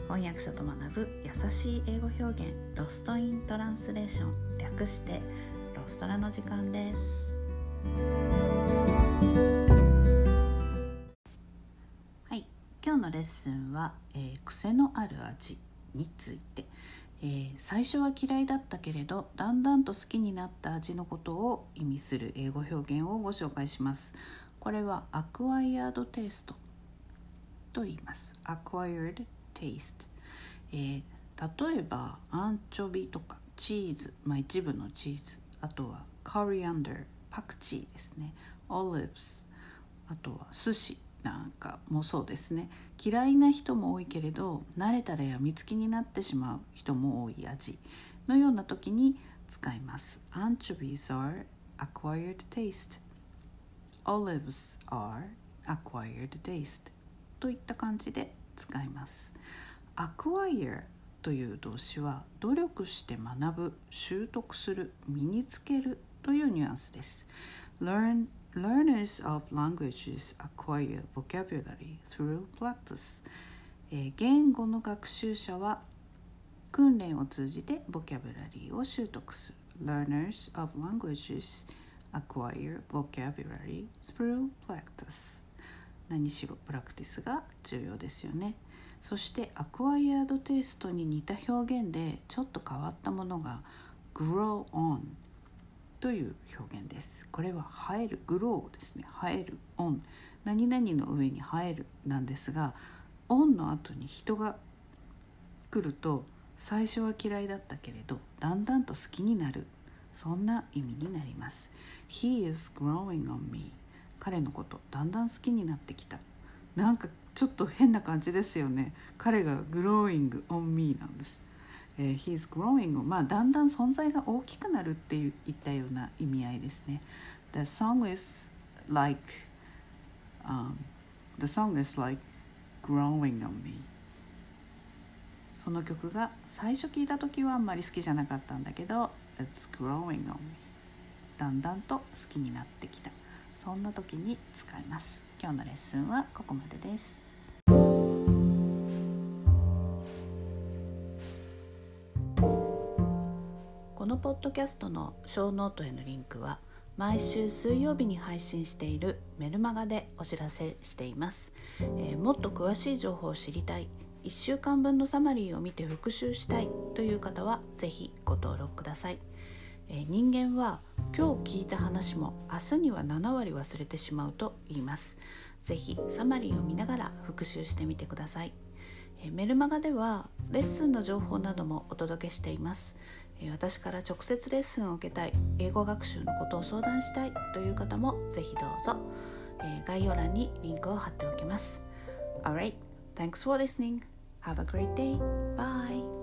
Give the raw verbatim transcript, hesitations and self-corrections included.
翻訳者と学ぶ優しい英語表現、ロストイントランスレーション、略してロストラの時間です。はい、今日のレッスンは、えー、癖のある味について、えー、最初は嫌いだったけれどだんだんと好きになった味のことを意味する英語表現をご紹介します。これはアクワイヤードテイストと言います。acquired taste、えー、例えばアンチョビとかチーズ、まあ、一部のチーズ、あとはコリアンダー、パクチーですね、オリーブス、あとは寿司なんかもそうですね。嫌いな人も多いけれど慣れたらやみつきになってしまう人も多い味のような時に使います。 Anchovies are acquired taste, Olives are acquired taste といった感じで使います。 Acquire という動詞は努力して学ぶ、習得する、身につけるというニュアンスです。 Learn Learners of languages acquire vocabulary through practice、えー、言語の学習者は訓練を通じてボキャブラリーを習得する。 Learners of languages acquire vocabulary through practice。 何しろプラクティスが重要ですよね。そしてアクワイヤードテイストに似た表現でちょっと変わったものが grow onという表現です。これは生える、グローですね。生える、オン、何々の上に生えるなんですが、オンの後に人が来ると最初は嫌いだったけれどだんだんと好きになる、そんな意味になります。 He is growing on me。 彼のことだんだん好きになってきた。なんかちょっと変な感じですよね。彼が growing on me なんです。Uh, he's growing、まあ、だんだん存在が大きくなるっていったような意味合いですね。The song is like、um, The song is like growing on me。 その曲が最初聞いた時はあんまり好きじゃなかったんだけど It's growing on me。 だんだんと好きになってきた、そんな時に使います。今日のレッスンはここまでです。このポッドキャストのショーノートへのリンクは毎週水曜日に配信しているメルマガでお知らせしています。えー、もっと詳しい情報を知りたい、いっしゅうかんぶんのサマリーを見て復習したいという方はぜひご登録ください。えー、人間は今日聞いた話も明日にはななわり忘れてしまうと言います。ぜひサマリーを見ながら復習してみてください。えー、メルマガではレッスンの情報などもお届けしています。私から直接レッスンを受けたい、英語学習のことを相談したいという方もぜひどうぞ。概要欄にリンクを貼っておきます。Alright, thanks for listening. Have a great day. Bye.